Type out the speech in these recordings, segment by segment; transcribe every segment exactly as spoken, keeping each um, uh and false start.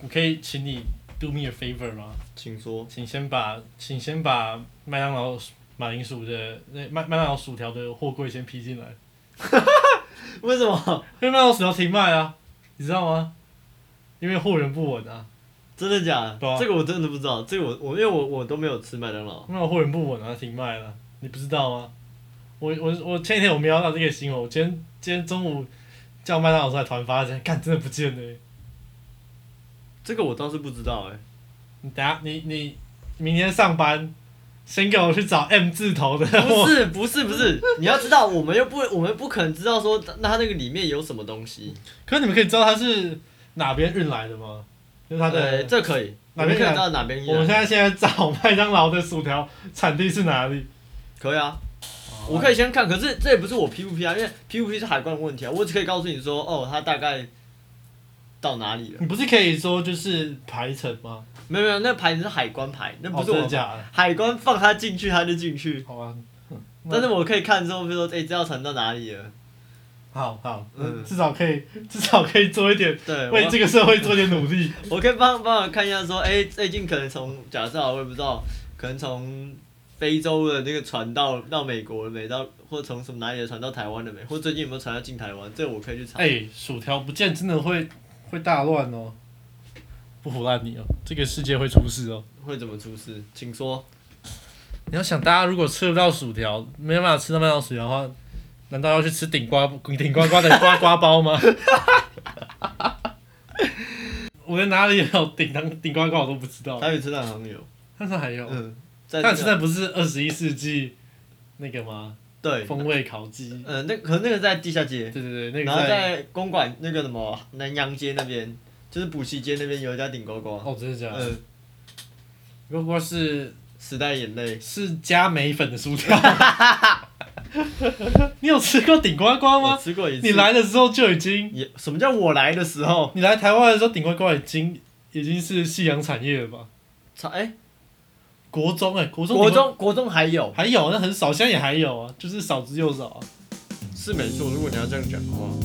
我可以请你 do me a favor 吗？ 请说。 请先把，请先把麦当劳马铃薯的那麦麦当劳薯条的货柜先批进来。 为什么？ 因为麦当劳薯条停卖啊，你知道吗？因为货源不稳啊。 真的假的？ 对啊、 这个我真的不知道，这个我我因为我我都没有吃麦当劳。 麦当劳货源不稳啊，停卖了，你不知道吗？我我我前几天我瞄到这个新闻，我今天今天中午叫麦当劳出来团发现，干真的不见了、欸。 这个我倒是不知道哎、欸。 你等下你你明天上班，先给我去找 M 字头的。 不是不是不是，你要知道，我们又不我们不可能知道说那它那个里面有什么东西。 可是你们可以知道它是哪边运来的吗？就是它的、 欸，这可以， 哪边可以知道哪边。 我们现在现在找麦当劳的薯条产地是哪里？ 可以啊，我可以先看，可是这也不是我批不批啊，因为批不批是海关的问题啊，我只可以告诉你说，哦，它大概到哪里了。 你不是可以说就是排程吗？ 没有没有，那牌子是海关牌，那不是我、 哦、真的假的？ 海关放它进去，它就进去。 好啊。 但是我可以看之后，比如说，哎、欸，这要传到哪里了？ 好好， 嗯， 至少可以，至少可以做一点， 对， 为这个社会做点努力。 我可以帮帮我看一下，说，哎、欸，最近可能从假设我也不知道，可能从非洲的那个船到到美国了没？到或者从什么哪里的船到台湾了没？或最近有没有船要进台湾？这个我可以去查。 哎、欸，薯条不见真的会会大乱哦，不唬烂你哦，这个世界会出事哦。 会怎么出事？请说。 你要想，大家如果吃不到薯条，没办法吃到麦当劳薯条的话，难道要去吃顶呱顶呱呱的呱呱包吗？我连哪里有顶当顶呱呱我都不知道。 台北车站好像有， 但是还有， 嗯， 但现在不是二十一世纪那个吗？ 对， 风味烤鸡。 嗯、呃，那可能那个在地下街。 对对对，那个然后在公馆那个什么南洋街那边，就是补习街那边有一家顶呱呱。 哦，真的假的？ 嗯， 呱呱是时代眼泪， 是加梅粉的薯条。你有吃过顶呱呱吗？ 我吃过一次。 你来的时候就已经也什么叫我来的时候？ 你来台湾的时候，顶呱呱已经已经是夕阳产业了吧？ 哎、欸， 国中哎、欸，国中国中国中还有还有，那很少，现在也还有啊，就是少之又少啊。 是没错，如果你要这样讲的话。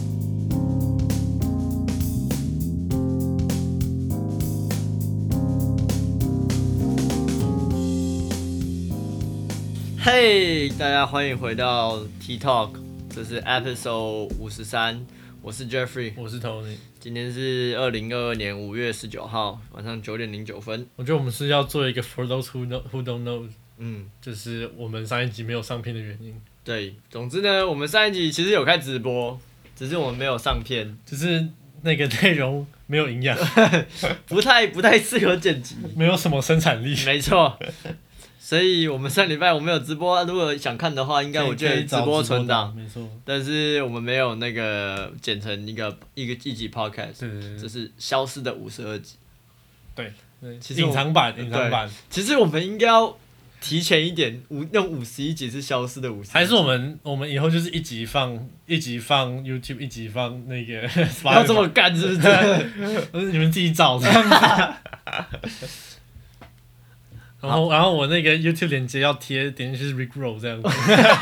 嘿、hey, 大家欢迎回到 T Talk， 这是 Episode 五十三，我是 Jeffrey， 我是 Tony， 今天是二零二二年五月十九号晚上九点零九分。 我觉得我们是要做一个 For those who know who don't know， 嗯， 就是我们上一集没有上片的原因。 对，总之呢，我们上一集其实有开直播，只是我们没有上片， 只是那个内容没有营养， 不太不太适合剪辑， 没有什么生产力。 没错。所以我们上礼拜我们有直播，如果想看的话，应该我觉得直播存档， 没错。 但是我们没有那个剪成一个一个一集 podcast， 对对对， 这是消失的五十二集。 对对， 其实隐藏版，隐藏版。 其实我们应该要提前一点，五用五十一集是消失的五十， 还是我们我们以后就是一集放一集放 YouTube， 一集放那个要这么干是不是？ 你们自己找这样子。然后，然后我那个 YouTube 链接要贴，点进去是 Rickroll 这样子。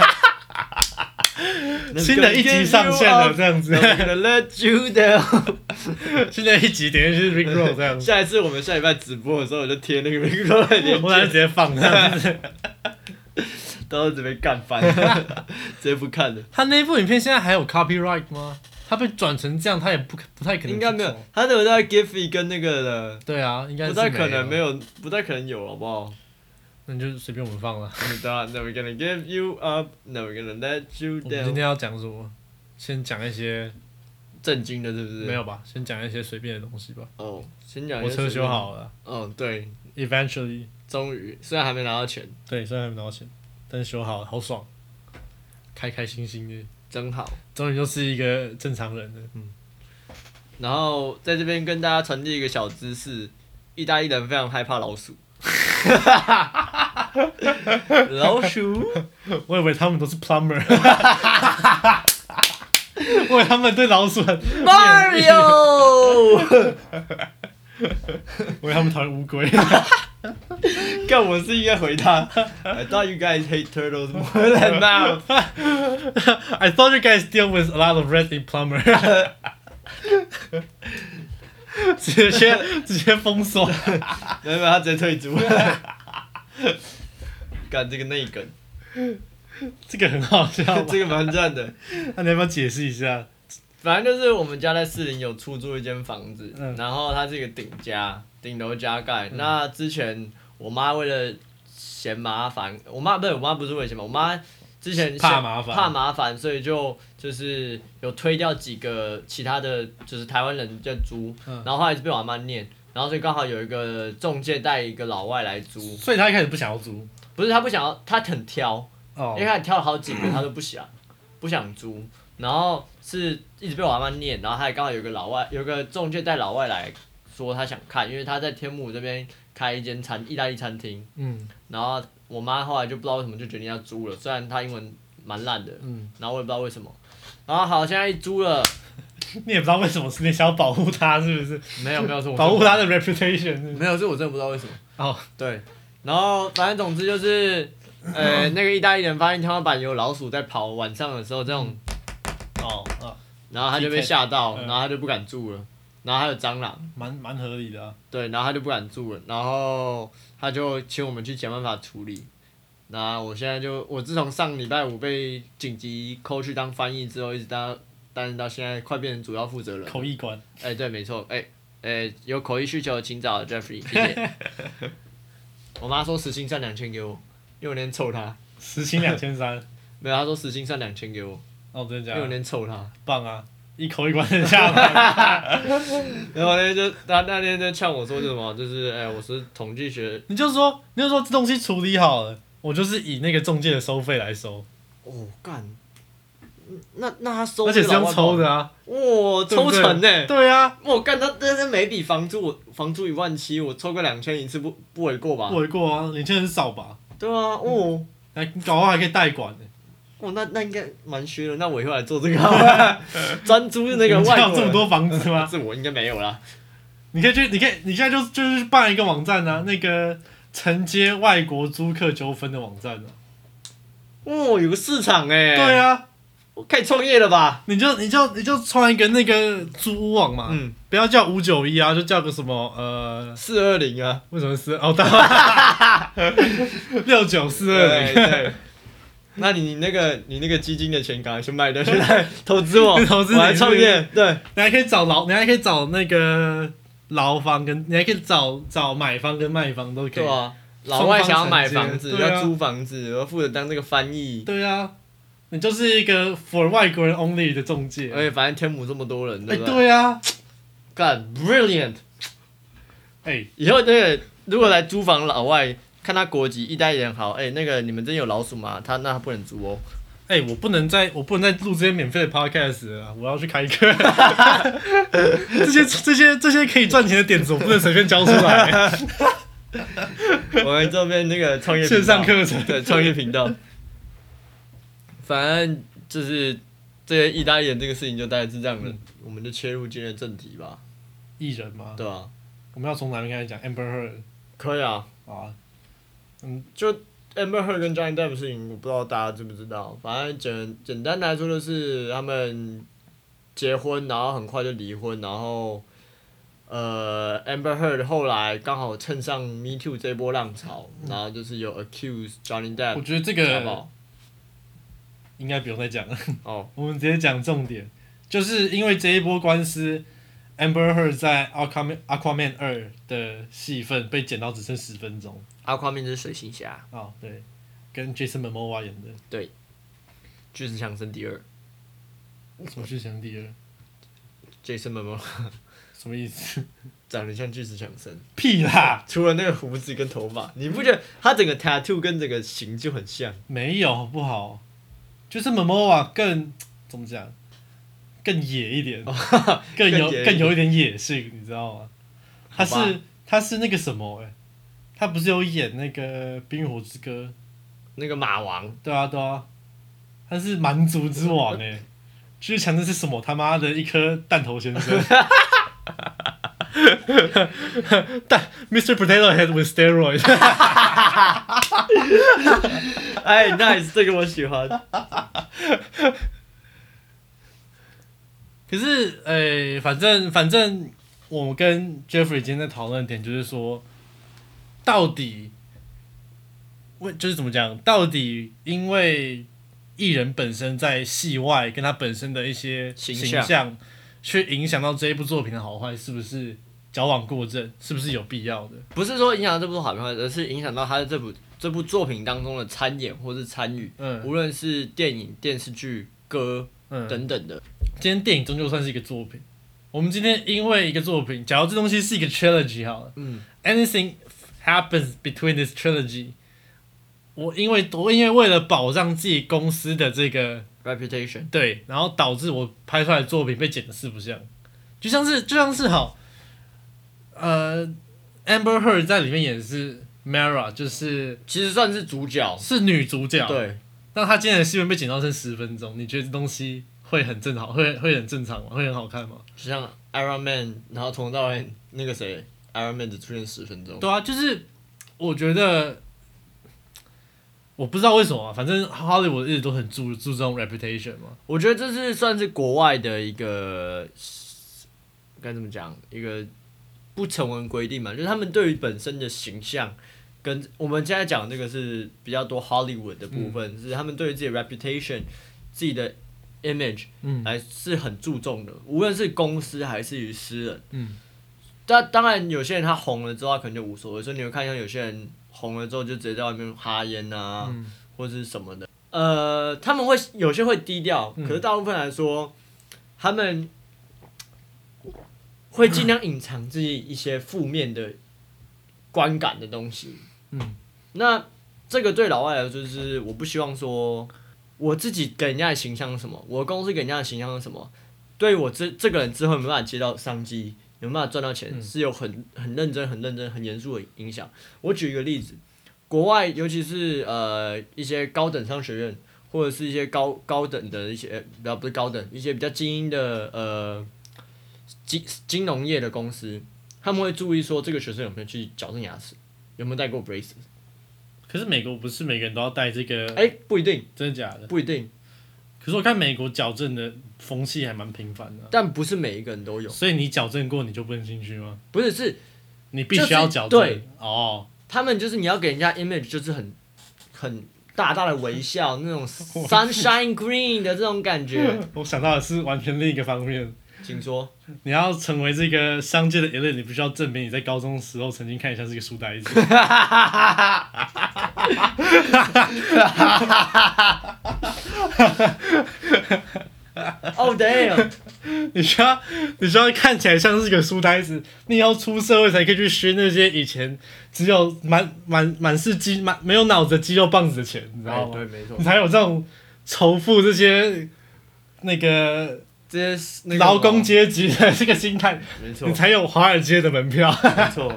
新的一集上线了，这样子。 Let you down。 新的一集点进去是 Rickroll 这样子。 下一次我们下礼拜直播的时候，我就贴那个 Rickroll 的链接， 我来直接放这样子。 到时候准备干翻，直接不看了。 他那部影片现在还有 copyright 吗？他被转成这样，他也不不太可能。 应该没有，他都有在 Giphy 跟那个的。 对啊，应该是不太可能没有，不太可能有，好不好？ 那你就随便我们放了。 Never gonna give you up, never gonna let you down。我们今天要讲什么？先讲一些正经的，是不是？ 没有吧，先讲一些随便的东西吧。 哦，先讲。 我车修好了。 哦，对。 Eventually。 终于，虽然还没拿到钱。 对，虽然还没拿到钱，但是修好了，好爽，开开心心的。 真好， 终于就是一个正常人了。嗯， 然后在这边跟大家传递一个小知识：意大利人非常害怕老鼠。老鼠？ 我以为他们都是 plumber。我以为他们对老鼠很 Mario。 我以为他们讨厌乌龟。 干，我是应该回他。I thought you guys hate turtles more than mouse. I thought you guys deal with a lot of red in plumber. 直接直接封锁， 没有没有，他直接退租。干这个内梗， 这个很好笑吧， 这个蛮赞的。 那你要不要解释一下？ 反正就是我们家在士林有出租一间房子， 嗯、 然后它是一个顶加，顶楼加盖。 嗯、 那之前我妈为了嫌麻烦，我妈不是我妈不是为了嫌麻烦，我妈之前怕麻烦， 怕麻烦，所以就就是有推掉几个其他的，就是台湾人在租， 嗯、 然后后来就被我阿妈念，然后所以刚好有一个中介带一个老外来租， 所以他一开始不想要租， 不是他不想要，他很挑， 哦、 因为他挑了好几个他都不想，不想租。然后是一直被我阿妈念，然后还刚好有个老外，有个中介带老外来说他想看，因为他在天母这边开一间餐意大利餐厅。 嗯。 然后我妈后来就不知道为什么就决定要租了，虽然她英文蛮烂的。 嗯。 然后我也不知道为什么。然后好，现在一租了。 你也不知道为什么，是你想要保护他是不是？ 没有没有，是我保护他的 reputation 是不是。 没有，是我真的不知道为什么。 哦。 对。然后反正总之就是，呃，那个意大利人发现天花板有老鼠在跑，晚上的时候这种。 哦，啊， 然后他就被吓到，然后他就不敢住了，然后还有蟑螂， 蛮蛮合理的啊。 对，然后他就不敢住了，然后他就请我们去想办法处理。那我现在就，我自从上礼拜五被紧急扣去当翻译之后，一直当担任到现在，快变成主要负责人。 口译官。 哎、欸，对，没错，哎、欸，哎、欸，有口译需求请找 Jeffrey， 谢谢。我妈说时薪算两千给我，因为我那天凑她。 时薪两千三。 没有，她说时薪算两千给我。 哦，真的假的？ 因为我那天凑他， 棒啊！一口一关的下班。 然后那天就他那天就呛我说什么，就是哎、欸，我是统计学。 你就说，你就说这东西处理好了，我就是以那个中介的收费来收。 哦，干，那那他收， 而且是用抽的啊！ 哇、哦，抽成呢？ 对啊， 我干他，但是每笔房租我房租一万七，我抽个两千一次不不为过吧？ 不为过啊，两千很少吧？ 对啊，哦， 还搞不好还可以代管呢。 哦，那那应该蛮虚的，那我以后来做这个好了，专租那个外国人。 有这么多房子吗？ 这我应该没有啦。 你可以去，你可以，你现在就就是办一个网站啊，那个承接外国租客纠纷的网站啊。 哦，有个市场哎、欸。 对啊， 我可以创业了吧？ 你就你就你就创一个那个租屋网嘛，嗯，不要叫五九一啊，就叫个什么呃四二零啊？ 为什么是哦？六九四二零。 对。那你那个你那个基金的钱赶快去卖掉，去来投资我， 投资我来创业。对， 你还可以找劳，你还可以找那个劳方跟，你还可以找找买方跟卖方都可以。 对啊，老外想要买房子， 啊、 要租房子，我要负责当那个翻译。 对啊，你就是一个 for 外国人 only 的中介。 而且反正天母这么多人，对不对？对啊， 干 brilliant。 哎、欸， 以后那个如果来租房老外。看他国籍，意大利人好，哎、欸，那个你们真有老鼠吗？他那他不能租哦。 哎、欸，我不能再我不能再录这些免费的 podcast 了，我要去开课。这些这些这些可以赚钱的点子，我不能随便教出来。 我们这边那个创业线上课程， 对创业频道。反正就是这些意大利人这个事情就大概是这样的，嗯、我们就切入今天的正题吧。 艺人吗？ 对啊。 我们要从哪边开始讲 ？Amber Heard。 可以啊。 啊。嗯， 就 Amber Heard 跟 Johnny Depp 的事情，我不知道大家知不知道。反正简简单来说，就是他们结婚，然后很快就离婚，然后呃 Amber Heard 后来刚好蹭上 Me Too 这波浪潮，然后就是有 accuse Johnny Depp。 我觉得这个应该不用再讲了。哦，我们直接讲重点，就是因为这一波官司。Amber Heard 在 Aquaman 二的戏份被剪到只剩十分钟。 Aquaman 是水行侠。 哦，对，跟 Jason Momoa 演的。 对。巨石强森第二。 什么巨石强森第二 ？Jason Momoa。 什么意思？ 长得像巨石强森。 屁啦！ 除了那个胡子跟头发，你不觉得他整个 tattoo 跟整个型就很像？ 没有，好不好？就是 Momoa 更怎么讲？更野一点，更有更有一点野性，你知道吗？他是他是那个什么哎、欸，他不是有演那个《冰与火之歌》 那个马王？ 对啊对啊，他是蛮族之王哎、欸，巨石强森是什么他妈的一颗弹头先生？但 Mister Potato Head with steroids 哎 ，nice， 这个我喜欢。 可是，诶、欸，反正反正我们跟 Jeffrey 今天在讨论的点就是说，到底，为就是怎么讲？到底因为艺人本身在戏外跟他本身的一些形象，形象去影响到这一部作品的好坏，是不是矫枉过正？是不是有必要的？ 不是说影响到这部好坏，而是影响到他的这部这部作品当中的参演或是参与，嗯，无论是电影、电视剧、歌、嗯、等等的。 今天电影终究算是一个作品。我们今天因为一个作品，假如这东西是一个 trilogy 好了，嗯 ，anything happens between this trilogy， 我因为我因为为了保障自己公司的这个 reputation， 对，然后导致我拍出来的作品被剪得四不像，就像是就像是好，呃 ，Amber Heard 在里面演的是 Mara， 就是其实算是主角， 是女主角， 对， 但她今天的戏份被剪到剩十分钟，你觉得这东西？会很正好，会会很正常吗？会很好看吗？ 就像 Iron Man， 然后从头到尾那个谁 ，Iron Man 只出现十分钟。 对啊，就是我觉得，我不知道为什么、啊，反正 Hollywood 一直都很注注重 reputation 嘛。 我觉得这是算是国外的一个该怎么讲，一个不成文规定嘛，就是他们对于本身的形象，跟我们现在讲这个是比较多 Hollywood 的部分，嗯、是他们对于自己的 reputation， 自己的。image 还是很注重的，无论是公司还是于私人。嗯，但当然有些人他红了之后他可能就无所谓，所以你会看像有些人红了之后就直接在外面哈烟啊，嗯、或者是什么的。呃，他们会有些会低调，可是大部分来说，他们会尽量隐藏自己一些负面的观感的东西。嗯，那这个对老外来说就是我不希望说。我自己给人家的形象是什么？我的公司给人家的形象是什么？对于我这这个人之后有没有办法接到商机，有没有办法赚到钱，嗯、是有很很认真、很认真、很严肃的影响。我举一个例子，国外尤其是呃一些高等商学院，或者是一些高高等的一些，不要不是高等，一些比较精英的呃金金融业的公司，他们会注意说这个学生有没有去矫正牙齿，有没有戴过 braces。 可是美国不是每个人都要戴这个？ 哎、欸，不一定， 真的假的？ 不一定。 可是我看美国矫正的风气还蛮频繁的、啊， 但不是每一个人都有。 所以你矫正过，你就不能进去吗？ 不是，是你必须要矫正。 对， 哦， 他们就是你要给人家 image 就是很很大大的微笑，那种 sunshine green 的这种感觉。 我想到的是完全另一个方面。 请说。 你要成为这个商界的 elite， 你必须要证明你在高中时候曾经看起来像是个书呆子。 Oh damn！ 你需要你需要看起来像是个书呆子，你要出社会才可以去削那些以前只有满满满是肌满没有脑子的肌肉棒子的钱，你知道吗？ 对，没错。 你才有这种仇富这些那个。 这些劳工阶级的这个心态， 没错， 你才有华尔街的门票。 没错。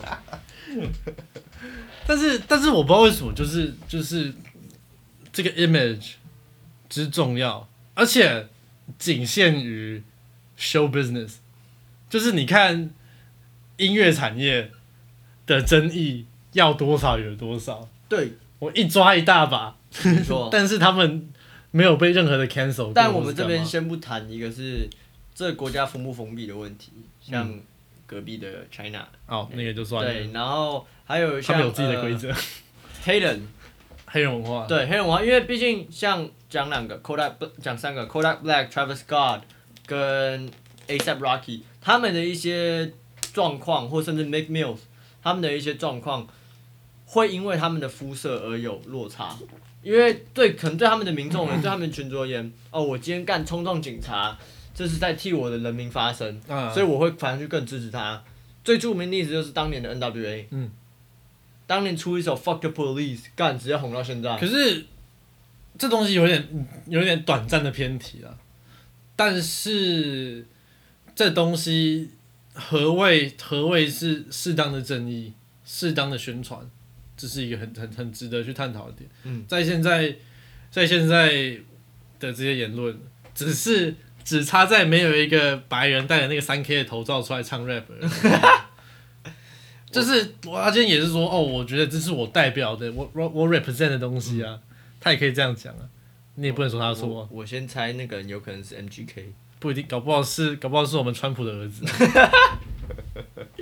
但是，但是我不知道为什么，就是就是这个 image 之重要，而且仅限于 show business。就是你看音乐产业的争议要多少有多少。 对， 我一抓一大把， 没错。 但是他们。没有被任何的 cancel 过。 但我们这边先不谈一个是这个国家封不封闭的问题，像隔壁的 China。 哦，那个就算了。 对，然后还有像他们有自己的规则、呃。 黑人， 黑人文化。 对黑人文化，因为毕竟像讲两个 Kodak， 讲三个 Kodak Black、Travis Scott 跟 A$AP Rocky， 他们的一些状况，或甚至 Meek Mill 他们的一些状况，会因为他们的肤色而有落差。因为对，可能对他们的民众人，对他们的群众而言，哦，我今天干冲撞警察，这是在替我的人民发声，嗯、所以我会反而去更支持他。最著名的例子就是当年的 N W A， 嗯，当年出一首 Fuck the Police， 干直接红到现在。 可是这东西有点有点短暂的偏题了，但是这东西何谓何谓是适当的正义，适当的宣传？这是一个很很很值得去探讨的点。嗯，在现在，在现在的这些言论，只是只差在没有一个白人戴着那个三 K 的头罩出来唱 rap 而已。就是我他今天也是说，哦，我觉得这是我代表的，我我我 represent 的东西啊，嗯、他也可以这样讲啊，你也不能说他错、啊。 我, 我先猜那个人有可能是 M G K， 不一定，搞不好是搞不好是我们川普的儿子。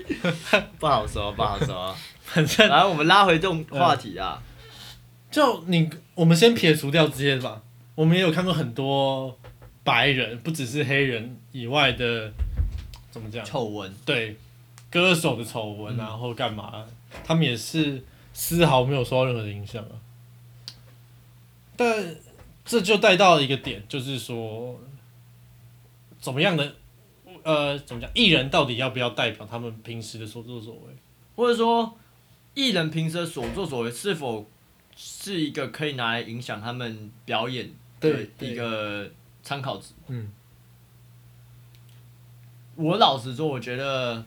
不好说，不好说。 反正， 来，我们拉回这种话题啊。 就你，我们先撇除掉这些吧。我们也有看过很多白人，不只是黑人以外的，怎么讲？ 丑闻。 对，歌手的丑闻啊，或干嘛，他们也是丝毫没有受到任何的影响啊。但这就带到一个点，就是说，怎么样的，呃，怎么讲？艺人到底要不要代表他们平时的所作所为？ 或者说，艺人平时的所作所为是否是一个可以拿来影响他们表演的一个参考值？ 嗯， 我老实说，我觉得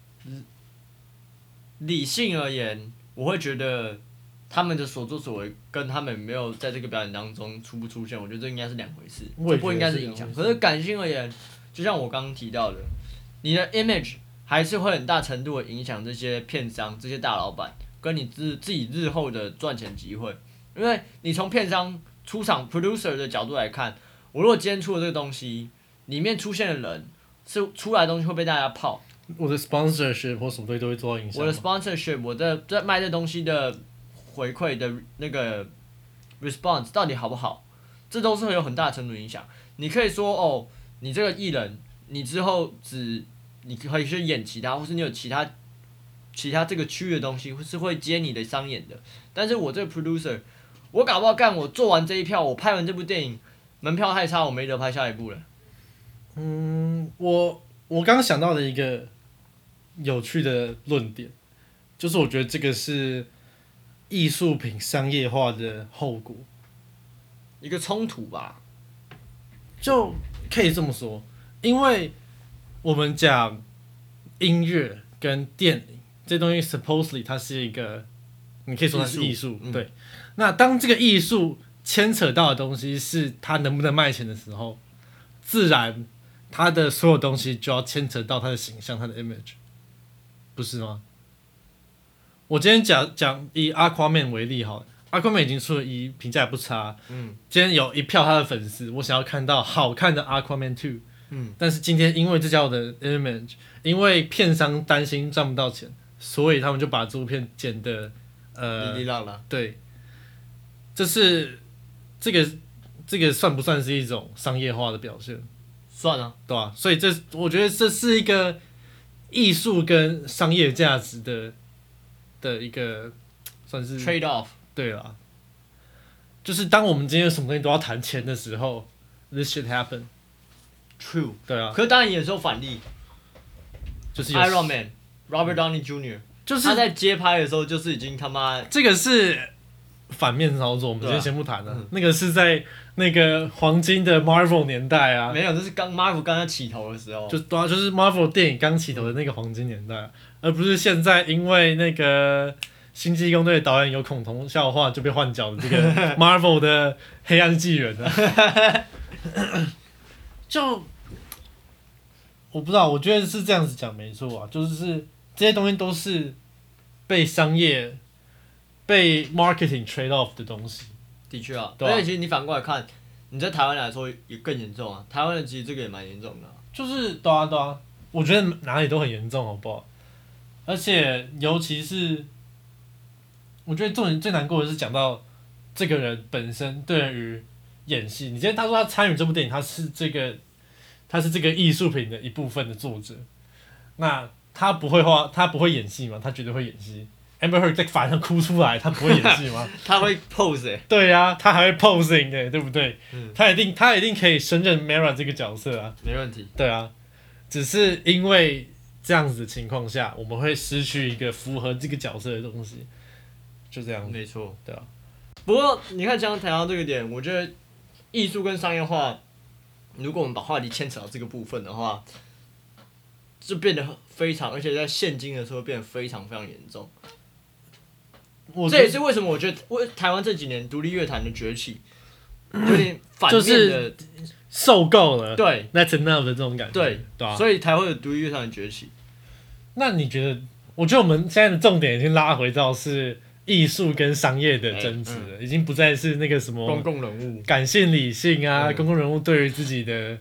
理性而言，我会觉得他们的所作所为跟他们没有在这个表演当中出不出现，我觉得这应该是两回事，这不应该是影响。可是感性而言，就像我刚刚提到的，你的 image 还是会很大程度的影响这些片商、这些大老板跟你自自己日后的赚钱机会。因为你从片商出场 producer 的角度来看，我如果今天出了这个东西，里面出现的人是出来的东西会被大家泡。 我的 sponsorship 或什么东西都会受到影响。 我的 sponsorship， 我的在卖这东西的回馈的那个 response 到底好不好，这都是会有很大程度影响。你可以说哦，你这个艺人，你之后只你可以去演其他，或是你有其他其他这个区域的东西，是会接你的商演的。但是我这个 producer， 我搞不好干，我做完这一票，我拍完这部电影，门票太差，我没得拍下一部了。 嗯，我我刚想到的一个有趣的论点，就是我觉得这个是艺术品商业化的后果， 一个冲突吧， 就可以这么说，因为我们讲音乐跟电影这东西 ，supposedly 它是一个，你可以说它是艺术，对。嗯、那当这个艺术牵扯到的东西是它能不能卖钱的时候，自然它的所有东西就要牵扯到它的形象、它的 image， 不是吗？我今天讲讲以 Aquaman 为例好了 ，Aquaman 已经出了一，评价也不差。嗯，今天有一票他的粉丝，我想要看到好看的 Aquaman two。嗯，但是今天因为这家伙的 image， 因为片商担心赚不到钱，所以他们就把这部片剪得呃， 哩哩啦啦。 对，这是这个这个算不算是一种商业化的表现？ 算啊， 对吧、啊？所以这我觉得这是一个艺术跟商业价值的的一个算是 trade off。 对啦，就是当我们今天什么东西都要谈钱的时候 ，this should happen。True。对啊。 可是当然也是有反例， 就是 Iron Man、Robert Downey Junior， 就是他在接拍的时候就是已经他妈这个是反面操作，我们今天先不谈了、啊嗯。那个是在那个黄金的 Marvel 年代啊， 没有，这是刚 Marvel 刚刚起头的时候， 就对啊，就是 Marvel 电影刚起头的那个黄金年代、啊，而不是现在因为那个星际异攻队的导演有恐同笑话就被换角的这个 Marvel 的黑暗纪元啊。就我不知道，我觉得是这样子讲没错啊，就是这些东西都是被商业、被 marketing trade off 的东西。 的确啊，而且其实你反过来看，你在台湾来说也更严重啊。台湾的其实这个也蛮严重的、啊。 就是对啊对啊，我觉得哪里都很严重，好不好？而且尤其是，我觉得重点最难过的是讲到这个人本身对于演戏，你今天他说他参与这部电影，他是这个。他是这个艺术品的一部分的作者，那他不会画，他不会演戏吗？他绝对会演戏。Amber Heard 在法庭上哭出来，他不会演戏吗？ 他会 pose 欸。 对啊，他还会 posing 的、欸，对不对？嗯、他一定，他一定可以胜任 Mera 这个角色啊。 没问题。 对啊，只是因为这样子的情况下，我们会失去一个符合这个角色的东西，就这样。 没错。 对啊。 不过你看，刚刚谈到这个点，我觉得艺术跟商业化。如果我们把话题牵扯到这个部分的话，就变得非常，而且在现今的时候变得非常非常严重。这也是为什么我觉得，为台湾这几年独立乐坛的崛起，有点反面的，就是受够了， 对 ，That's enough 的这种感觉， 对， 对啊， 所以才会有独立乐坛的崛起。 那你觉得？我觉得我们现在的重点已经拉回到是艺术跟商业的争执了、欸嗯，已经不再是那个什么公共人物、 感性理性啊，嗯、公共人物对于自己的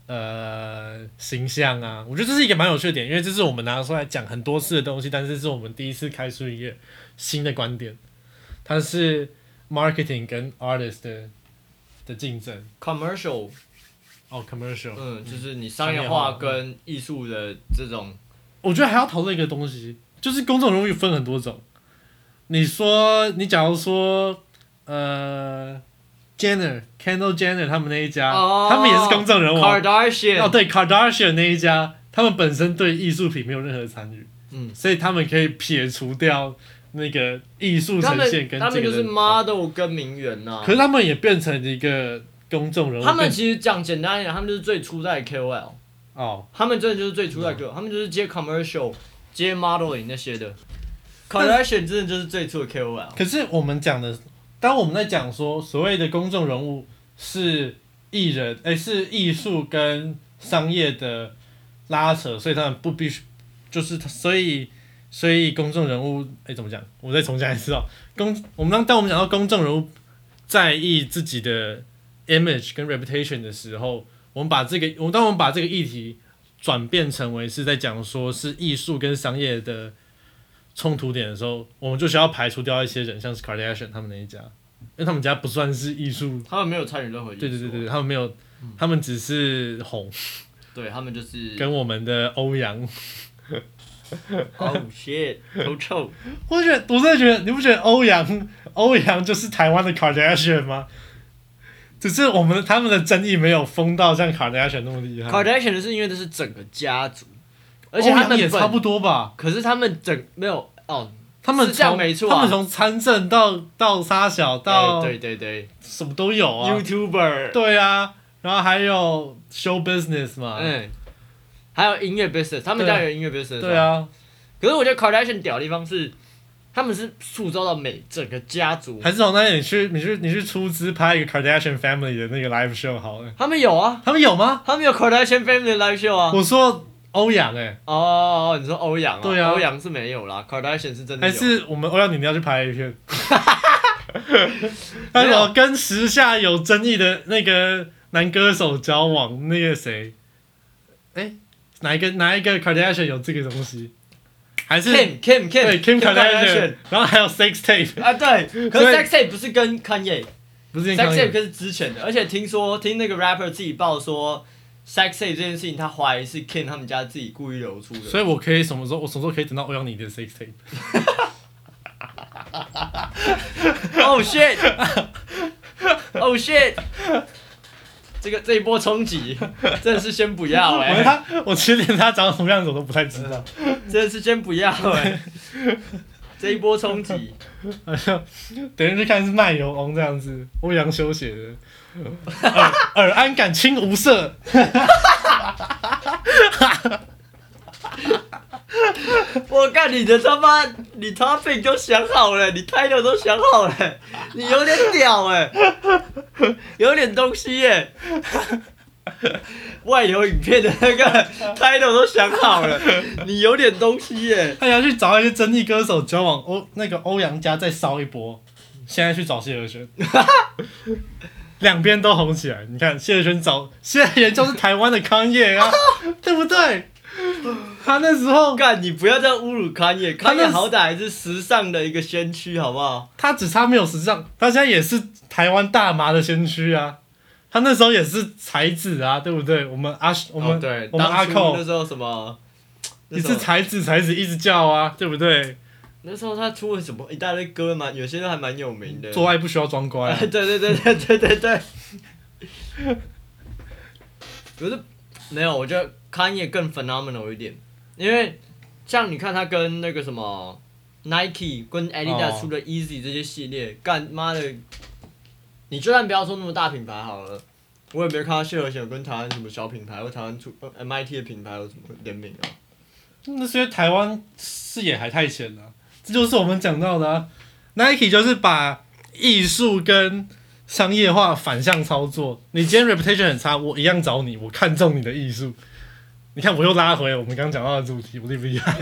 呃形象啊，我觉得这是一个蛮有趣的点，因为这是我们拿出来讲很多次的东西，但是是我们第一次开出一个新的观点，它是 marketing 跟 artist 的的竞争 ，commercial， 哦 commercial， 嗯，就是你商业化跟艺术的这种， 我觉得还要讨论一个东西，就是公众人物分很多种。你说，你假如说，呃 ，Jenner、Kendall Jenner 他们那一家， 哦、 他们也是公众人物。 Kardashian， 哦，对 ，Kardashian 那一家，他们本身对艺术品没有任何参与， 嗯， 所以他们可以撇除掉那个艺术呈现跟这个人。 他们就是 model 跟名媛呐、啊。 可是他们也变成一个公众人物。 他们其实讲简单一点，他们就是最初代的 K O L。 哦。 他们真的就是最初代的 K O L，、嗯、他们就是接 commercial、接 modeling 那些的。Kardashian 真的就是最初的 K O L。 可是我们讲的，当我们在讲说所谓的公众人物是艺人，哎、欸，是艺术跟商业的拉扯，所以他们不必须，就是所以所以公众人物，哎、欸，怎么讲？我再重讲一次哦。公，我们当当我们讲到公众人物在意自己的 image 跟 reputation 的时候，我们把这个，我们当我们把这个议题转变成为是在讲说是艺术跟商业的冲突点的时候，我们就需要排除掉一些人，像是 Kardashian 他们那一家，因为他们家不算是艺术， 他们没有参与任何艺术。 对对对对，他们没有，嗯、他们只是红。 对他们就是跟我们的欧阳。 Oh shit， 头臭。 我觉得，我真的觉得，你不觉得欧阳，欧阳就是台湾的 Kardashian 吗？只是我们他们的争议没有疯到像 Kardashian 那么厉害。 Kardashian 是因为这是整个家族，而且他们也差不多吧。 可是他们整没有哦， 他们从、 没错、啊、 他们从参政到到杀小到、 欸、对对对， 什么都有啊。 YouTuber 对啊，然后还有 show business 嘛， 嗯，还有音乐 business， 他们家有音乐 business。 对啊。 可是我觉得 Kardashian 屌的地方是，他们是塑造到每整个家族。 还是从那里去，你去你去出资拍一个 Kardashian family 的那个 live show 好了。 他们有啊， 他们有吗？ 他们有 Kardashian family 的 live show 啊。 我说欧阳哎。 哦，你说欧阳啊？ 对啊， 欧阳是没有啦 ，Kardashian 是真的有。 还是我们欧阳你要去拍一片？还有跟时下有争议的那个男歌手交往，那个谁？哎、欸，哪一个哪一个 Kardashian 有这个东西？还是 Kim Kim Kim 对 Kim Kardashian， 然后还有 sex tape 啊，对，可是 sex tape 不是跟 Kanye， 不是 sex tape 是之前的，而且听说听那个 rapper 自己报说 sex tape 这件事情，他怀疑是 Kim 他们家自己故意流出的。 所以我可以什么时候我什么时候可以等到欧阳妮的 sex tape？ Oh shit！ Oh shit！ 这个这一波冲击，真的是先不要哎、欸！ 他，我其实连他长什么样子我都不太知道， 真的是先不要哎、欸！这一波冲击， 好像等于去看是卖油翁这样子，欧阳修写的，尔尔安感清无色。 我看你的他妈，你 topic 都想好了，你 title 都想好了，你有点屌哎、欸，有点东西耶、欸。外流影片的那个 title 都想好了，你有点东西耶、欸。 他要去找一些争议歌手交往，欧那个欧阳家再烧一波，现在去找谢和弦，两边都红起来。你看谢和弦找谢和弦就是台湾的康业啊，对不对？他那时候， 干你不要这样侮辱康也，康也好歹还是时尚的一个先驱，好不好？ 他只差没有时尚，他现在也是台湾大麻的先驱啊。他那时候也是才子啊，对不对？我们阿我们、 哦、对我们阿寇那时候什么， 你是才子才子一直叫啊，对不对？ 那时候他出了什么一大堆歌嘛，有些都还蛮有名的。 做爱不需要装乖、啊。 对对对对对对对。可是没有，我觉得康也更 phenomenal 一点。因为像你看他跟那个什么 Nike 跟 Adidas 出的 Easy 这些系列，干妈的，你就算不要说那么大品牌好了，我也没看到谢和弦跟台湾什么小品牌或台湾出 M I T 的品牌有什么联名啊。 那是因为台湾视野还太浅了，这就是我们讲到的啊。Nike 就是把艺术跟商业化反向操作。你今天 reputation 很差，我一样找你，我看中你的艺术。你看，我又拉回我们刚讲到的主题，我厉不厉害？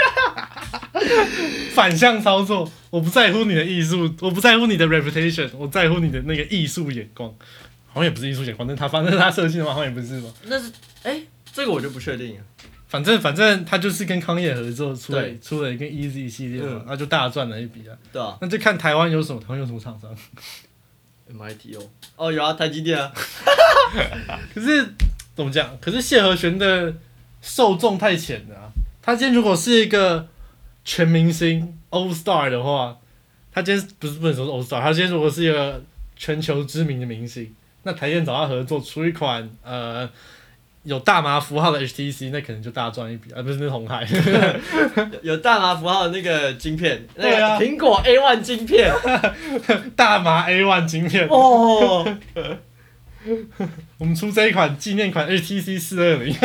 反向操作，我不在乎你的艺术，我不在乎你的 reputation， 我在乎你的那个艺术眼光。 好像也不是艺术奖，反正他反正是他设计的嘛，好像也不是嘛。 那是哎、欸，这个我就不确定了。 反正反正他就是跟康业合作出了出了一个 Easy 系列嘛，那、嗯、就大赚了一笔啊。 对啊。 那就看台湾有什么，台湾有什么厂商 ？M I T 哦，哦有啊，台积电啊。 可是怎么讲？可是谢和弦的受众太浅了、啊。他今天如果是一个全明星 All Star 的话，他今天不是不能说是 All Star， 他今天如果是一个全球知名的明星，那台电找他合作出一款呃。有大麻符号的 H T C， 那可能就大赚一笔，而、啊、不是那红海。 有大麻符号的那个晶片， 对啊， 苹果 A 一 晶片， 大麻 A 一 晶片。 哦， 我们出这一款纪念款 H T C 四二零。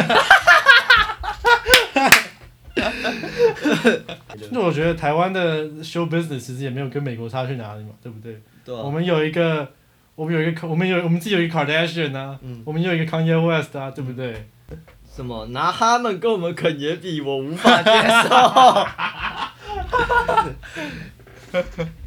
那我觉得台湾的 show business 其实也没有跟美国差去哪里嘛，对不对？ 对、啊。 我们有一个。我们有一个，我们有我们自己有一个 Kardashian 啊，嗯、我们有一个 Kanye West 啊，对不对？ 什么拿他们跟我们肯爷比，我无法接受。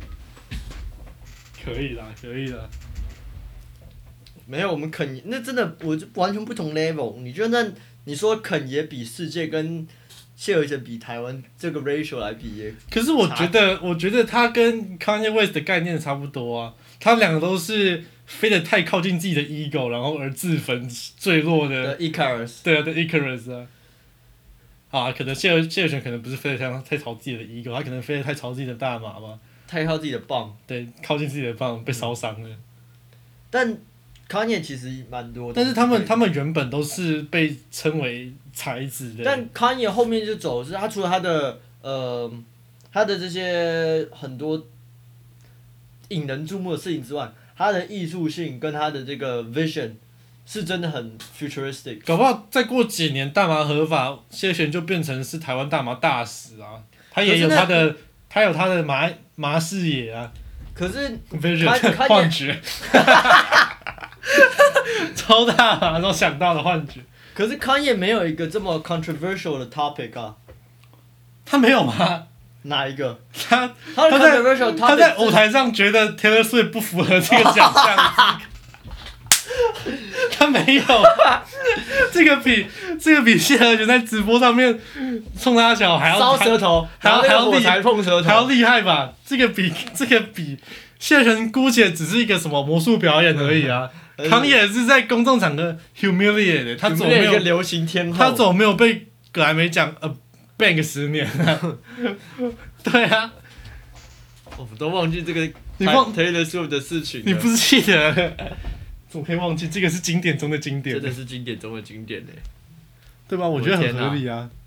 可以啦，可以啦。 没有，我们肯爷那真的，我就完全不同 level。你就算你说肯爷比世界跟谢和弦比台湾这个 ratio 来比耶， 可是我觉得，我觉得他跟 Kanye West 的概念差不多啊。他们两个都是飞得太靠近自己的 ego， 然后而自焚坠落的。 Icarus。 对啊，对 Icarus 啊。啊，可能谢和谢和弦可能不是飞得太太朝自己的 ego， 他可能飞得太朝自己的大麻吧。 太靠自己的棒。 对，靠近自己的棒被烧伤了。 但 Kanye 其实蛮多的。 但是他们他们原本都是被称为才子的。 但 Kanye 后面就走的是他除了他的呃他的这些很多。引人注目的事情之外，他的艺术性跟他的这个 vision 是真的很 futuristic。 搞不好再过几年大麻合法，谢和弦就变成是台湾大麻大使啊！他也有他的，他有他的麻麻视野啊。 可是 vision 幻觉，超大麻都想到的幻觉。 可是 Kanye 没有一个这么 controversial 的 topic 啊。 他没有吗？ 哪一个？ 他他在他在舞台上觉得 Taylor Swift 不符合这个奖项，他没有，这个比这个比谢和弦在直播上面冲他小还要烧舌头， 还要还要厉害碰舌头， 还要厉害吧？这个比这个比谢和弦姑且只是一个什么魔术表演而已啊，康也是在公众场合 humiliate， 他总没有流行天后， 他总没有被格莱美奖呃。bank 十年啊，对啊， 我都忘记这个你忘 Taylor Swift 的事情了。 你不是记得？怎么可以忘记？这个是经典中的经典， 真的是经典中的经典呢， 对吧？我觉得很合理啊。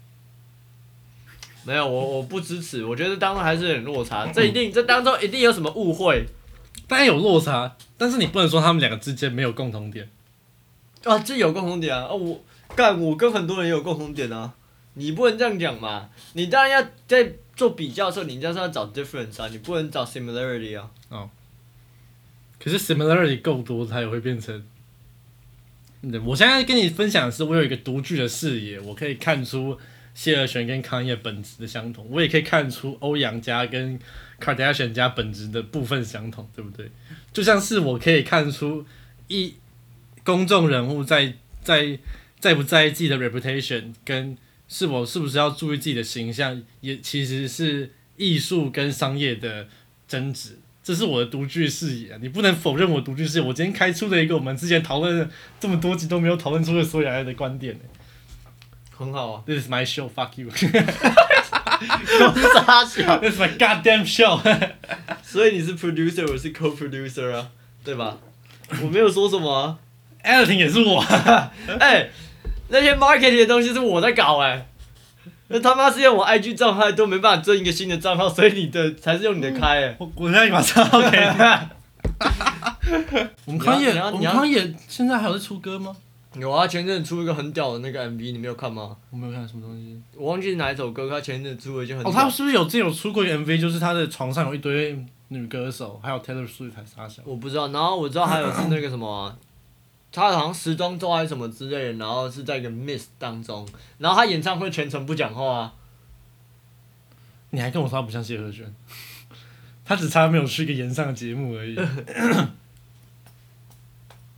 没有，我我不支持，我觉得当中还是有点落差，这一定这当中一定有什么误会。 当然有落差，但是你不能说他们两个之间没有共同点。 啊，这有共同点啊！啊，我干，我跟很多人也有共同点啊。你不能这样讲嘛！你当然要在做比较的时候，你就是要找 difference 啊，你不能找 similarity 啊。 哦。可是 similarity 够多，它也会变成。我现在跟你分享的是，我有一个独具的视野，我可以看出谢和弦跟康业本质的相同，我也可以看出欧阳家跟 Kardashian 家本质的部分相同，对不对？就像是我可以看出一公众人物在在在不在意自己的 reputation 跟。是否是不是要注意自己的形象，也其实是艺术跟商业的争执，这是我的独具视野、啊，你不能否认我独具视野。我今天开出了一个我们之前讨论了这么多集都没有讨论出的所有人的观点、欸， 很好啊。 This is my show, fuck you 公傻小。 This is my goddamn show 。 所以你是 producer， 我是 co-producer 啊，对吧？我没有说什么、啊。 Editing 也是我。 哎、欸。那些 marketing 的东西是我在搞哎、欸，那他妈是用我 I G 账号都没办法增一个新的账号，所以你的才是用你的开哎、欸。 我我现在把账号给你。我们康也，我们康也现在还有在出歌吗？ 有啊，前阵子出一个很屌的那个 M V， 你没有看吗？ 我没有看什么东西， 我忘记是哪一首歌，他前阵子出了一件很屌。 哦，他是不是有之前有出过一个 M V， 就是他的床上有一堆女歌手，还有 Taylor Swift 还是啥小？ 我不知道，然后我知道还有是那个什么、啊。他好像时装周还是什么之类的，然后是在一个 mist 当中，然后他演唱会全程不讲话啊。 你还跟我说他不像谢和弦，他只差没有去一个演唱的节目而已。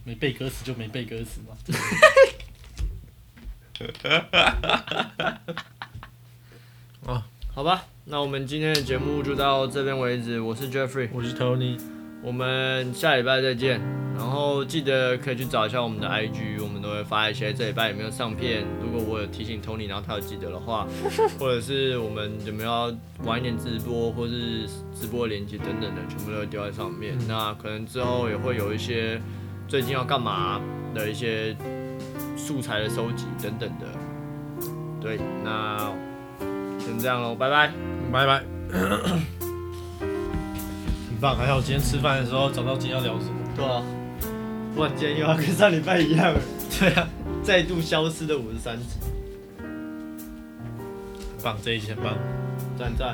没背歌词就没背歌词嘛。 哦，好吧，那我们今天的节目就到这边为止。我是 Jeffrey， 我是 Tony， 我们下礼拜再见。然后记得可以去找一下我们的 I G， 我们都会发一些这礼拜有没有上片。如果我有提醒 Tony， 然后他有记得的话，或者是我们有没有要晚一点直播，或是直播连接等等的，全部都会丢在上面。嗯、那可能之后也会有一些最近要干嘛的一些素材的收集等等的。对，那先这样咯，拜拜， 拜拜。很棒，还好今天吃饭的时候找到今天要聊什么。 对啊。不然今天又要跟上礼拜一样了。 对啊， 再度消失的五十三集。 很棒，这一集很棒， 赞赞。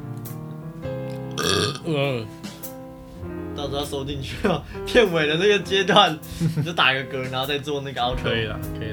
呃， 到时候要收进去哦。片尾的那个阶段，你就打个嗝，然后再做那个 outro。 可以了，可以了。